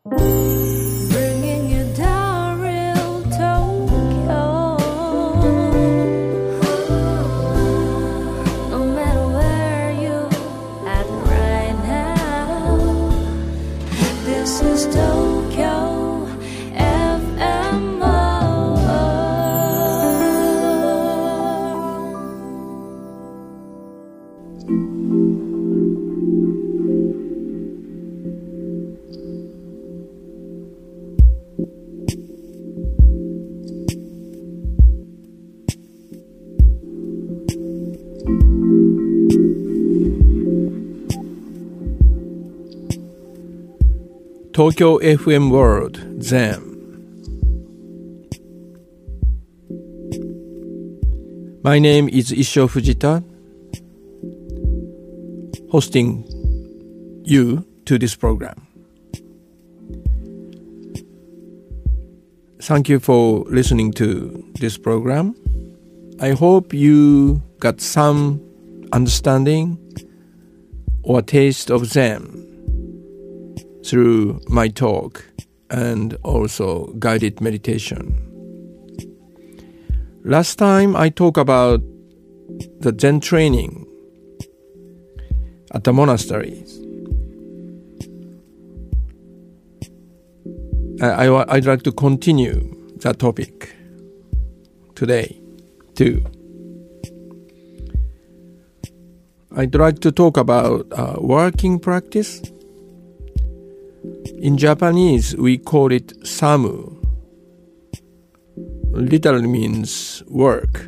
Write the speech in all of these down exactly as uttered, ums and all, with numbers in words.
Bringing you down real Tokyo. No matter where you at right now, this is Tokyo F M. Tokyo F M World Zen. My name is Issho Fujita, hosting you to this program. Thank you for listening to this program. I hope you got some understanding or taste of Zen through my talk and also guided meditation. Last time I talked about the Zen training at the monasteries. I, I, I'd like to continue that topic today too. I'd like to talk about uh, working practice. In Japanese, we call it samu. Literally means work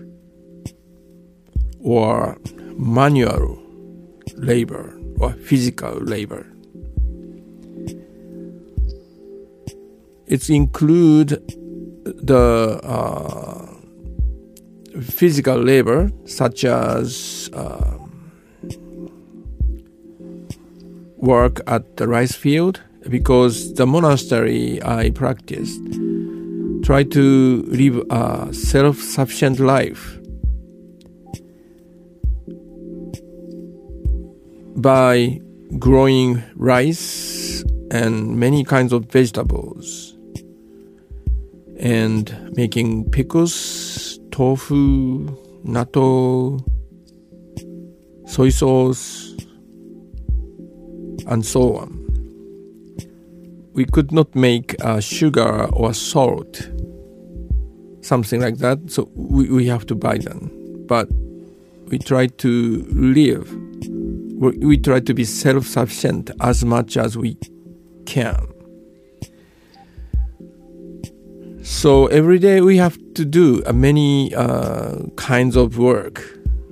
or manual labor or physical labor. It includes the uh, physical labor such as uh, work at the rice field, because the monastery I practiced try to live a self-sufficient life by growing rice and many kinds of vegetables and making pickles, tofu, natto, soy sauce, and so on. We could not make uh, sugar or salt, something like that, so we, we have to buy them. But we try to live, we, we try to be self-sufficient as much as we can. So every day we have to do uh, many uh, kinds of work.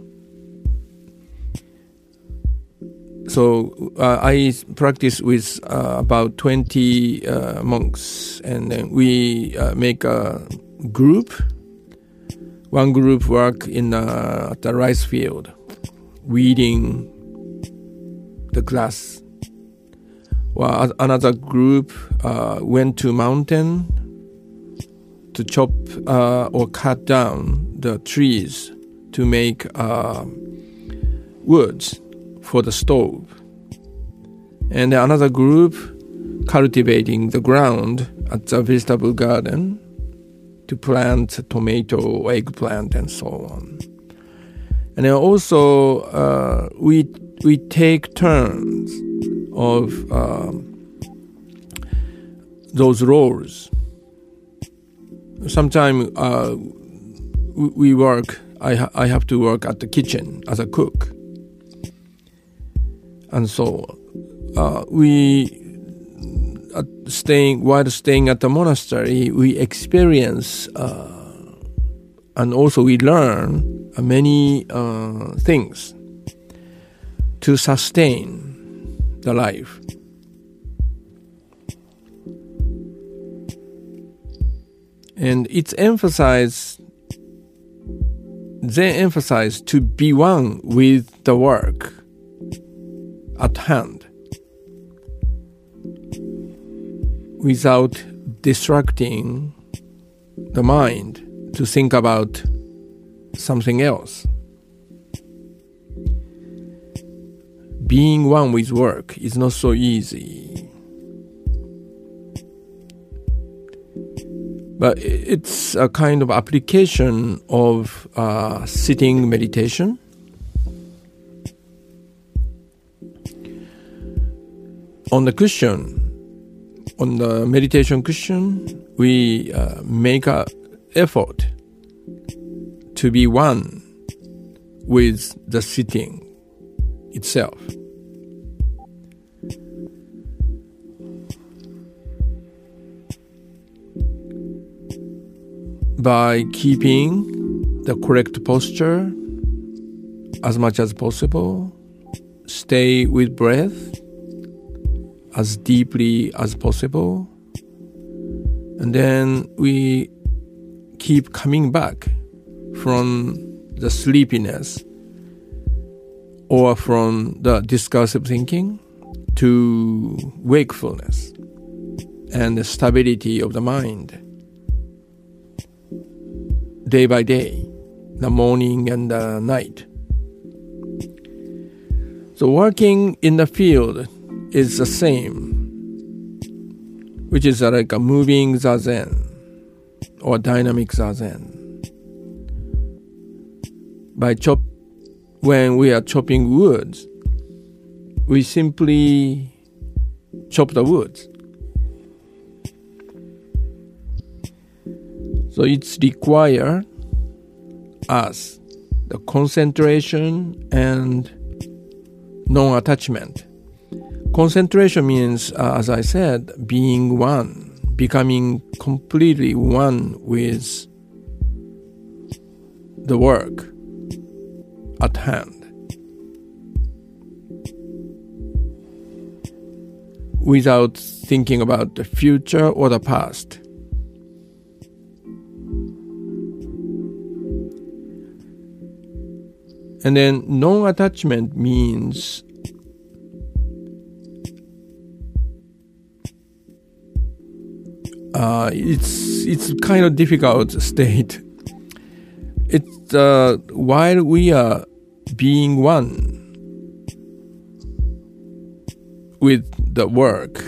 So uh, I practice with uh, about twenty uh, monks, and then we uh, make a group. One group work in uh, at the rice field, weeding the grass. Well, another group uh, went to mountain to chop uh, or cut down the trees to make uh, woods for the stove. And another group cultivating the ground at the vegetable garden to plant tomato, eggplant, and so on. And then also uh, we we take turns of uh, those roles. Sometimes uh, we work. I ha- I have to work at the kitchen as a cook. And so uh, we, uh, staying while staying at the monastery, we experience uh, and also we learn uh, many uh, things to sustain the life. And it's emphasized, they emphasize to be one with the work at hand without distracting the mind to think about something else. Being one with work is not so easy. But it's a kind of application of uh, sitting meditation. On the cushion, on the meditation cushion, we uh, make an effort to be one with the sitting itself. By keeping the correct posture as much as possible, stay with breath as deeply as possible, and then we keep coming back from the sleepiness or from the discursive thinking to wakefulness and the stability of the mind. Day by day, the morning and the night. So working in the field is the same, which is like a moving zazen or dynamic zazen. By chop, when we are chopping woods, we simply chop the woods. So it's require us the concentration and non-attachment. Concentration means, uh, as I said, being one, becoming completely one with the work at hand. Without thinking about the future or the past. And then non-attachment means uh, it's it's kind of difficult state. It's uh, while we are being one with the work,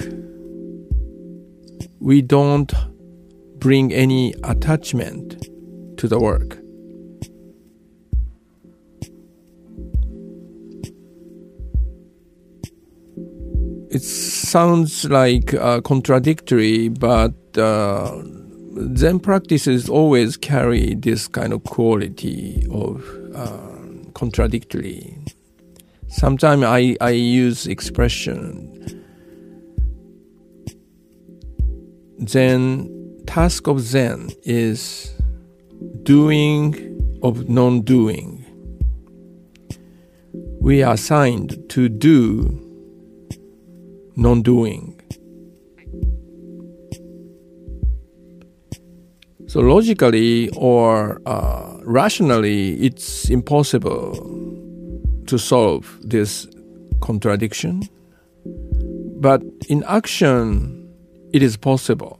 we don't bring any attachment to the work. It sounds like uh, contradictory, but uh, Zen practices always carry this kind of quality of uh, contradictory. Sometimes I, I use expression. Zen, task of Zen is doing of non-doing. We are assigned to do non-doing. So logically or uh, rationally, it's impossible to solve this contradiction. But in action, it is possible.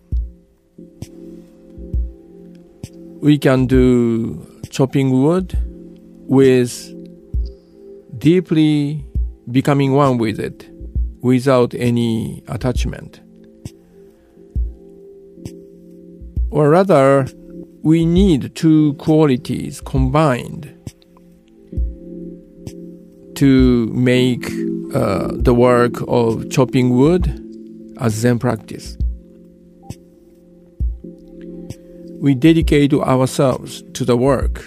We can do chopping wood with deeply becoming one with it, without any attachment. Or rather, we need two qualities combined to make uh, the work of chopping wood a Zen practice. We dedicate ourselves to the work,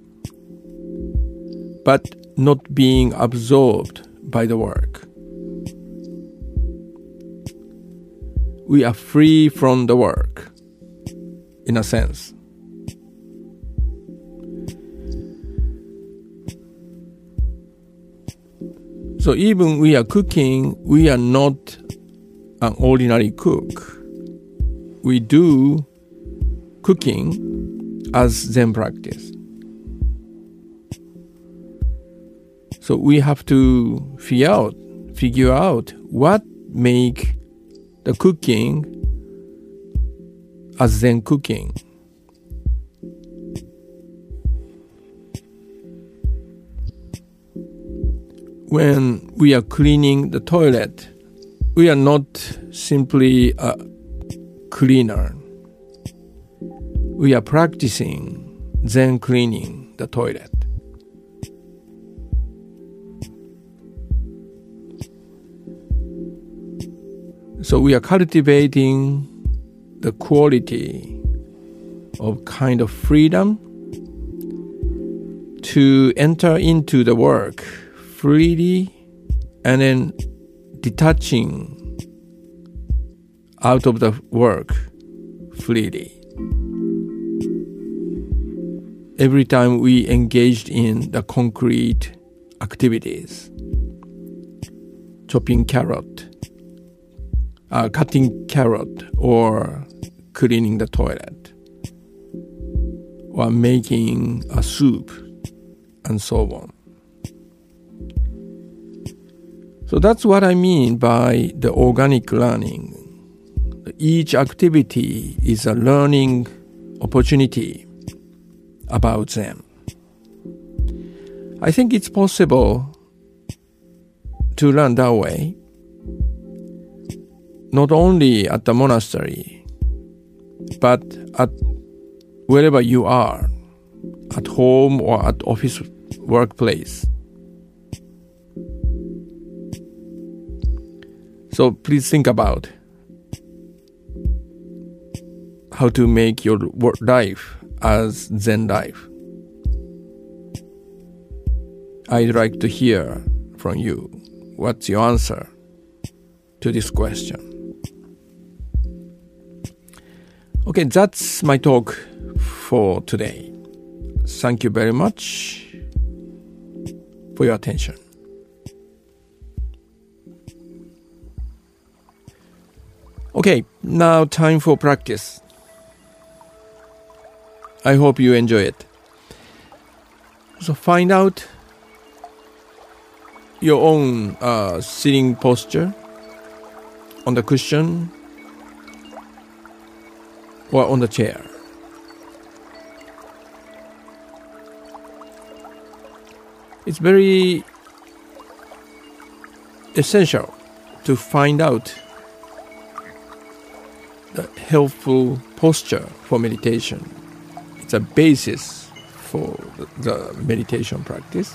but not being absorbed by the work. We are free from the work, in a sense. So even we are cooking, we are not an ordinary cook. We do cooking as Zen practice. So we have to figure out, figure out what make the cooking as Zen cooking. When we are cleaning the toilet, we are not simply a cleaner. we are practicing Zen cleaning the toilet. So we are cultivating the quality of kind of freedom to enter into the work freely and then detaching out of the work freely. Every time we engaged in the concrete activities, chopping carrot, uh, cutting carrot, or cleaning the toilet, or making a soup, and so on. So that's what I mean by the organic learning. Each activity is a learning opportunity about Zen. I think it's possible to learn that way, not only at the monastery, but at wherever you are, at home or at office workplace. So please think about how to make your work life as Zen life. I'd like to hear from you. What's your answer to this question? Okay, that's my talk for today. Thank you very much for your attention. Okay, now time for practice. I hope you enjoy it. So find out your own uh, sitting posture on the cushion or on the chair. It's very essential to find out the helpful posture for meditation. It's a basis for the meditation practice.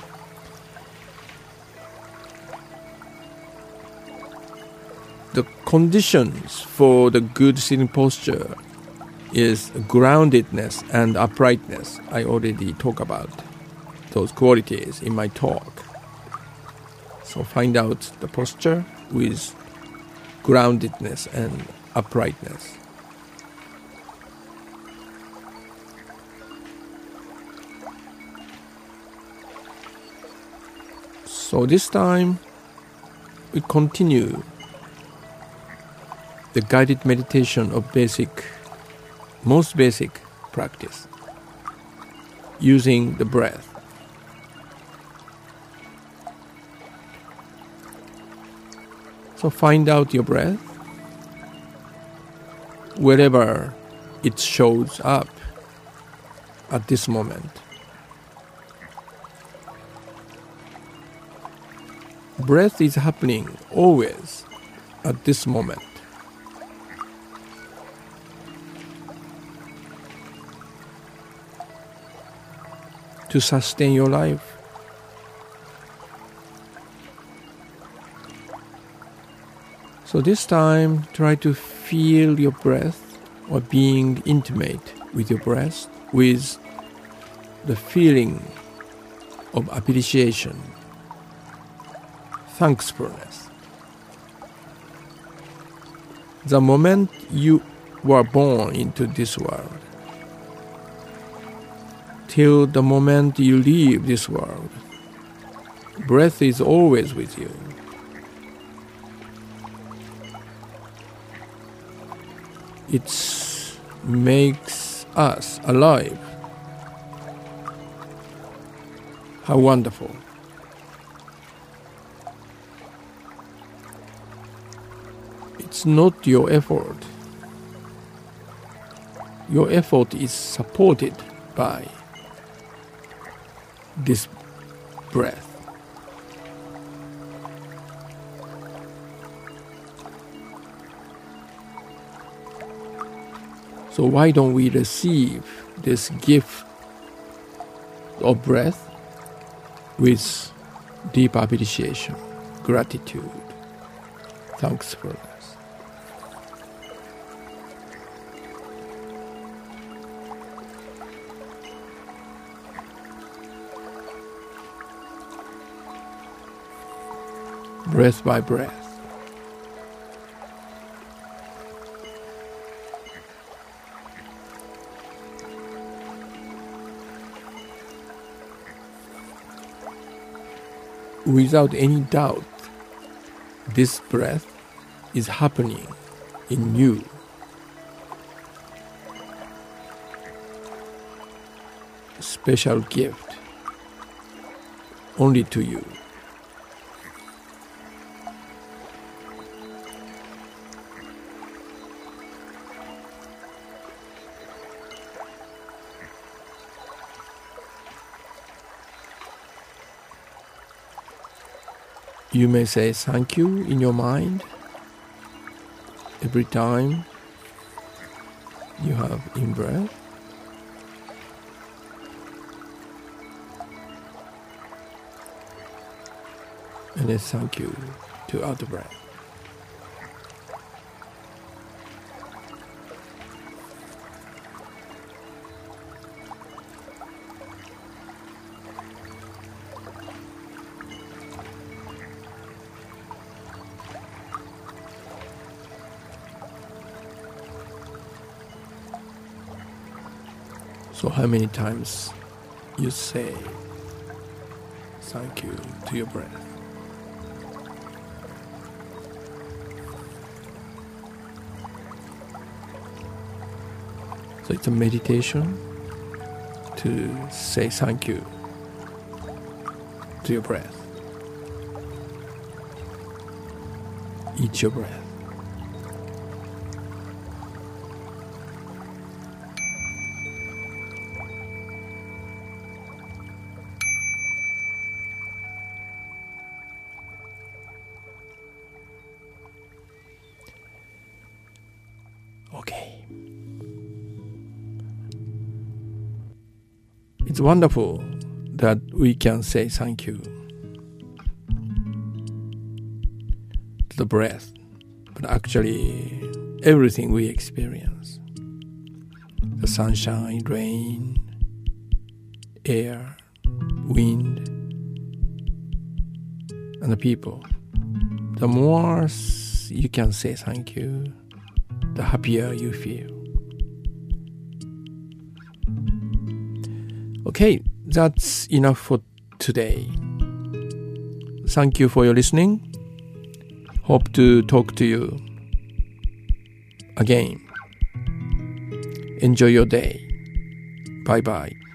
The conditions for the good sitting posture is groundedness and uprightness. I already talked about those qualities in my talk. So find out the posture with groundedness and uprightness. So this time we continue the guided meditation of basic, most basic practice, using the breath. So find out your breath wherever it shows up at this moment. Breath is happening always at this moment. To sustain your life. So this time, try to feel your breath or being intimate with your breath with the feeling of appreciation, thankfulness. The moment you were born into this world, till the moment you leave this world, breath is always with you. It makes us alive. How wonderful. It's not your effort. Your effort is supported by this breath. So why don't we receive this gift of breath with deep appreciation, gratitude, thankfulness. Breath by breath. Without any doubt, this breath is happening in you. Special gift only to you. You may say thank you in your mind every time you have in-breath. And then thank you to out-breath. So how many times you say thank you to your breath? So it's a meditation to say thank you to your breath. Eat your breath. Okay. It's wonderful that we can say thank you to the breath, but actually everything we experience, the sunshine, rain, air, wind, and the people, the more you can say thank you, the happier you feel. Okay, that's enough for today. Thank you for your listening. Hope to talk to you again. Enjoy your day. Bye bye.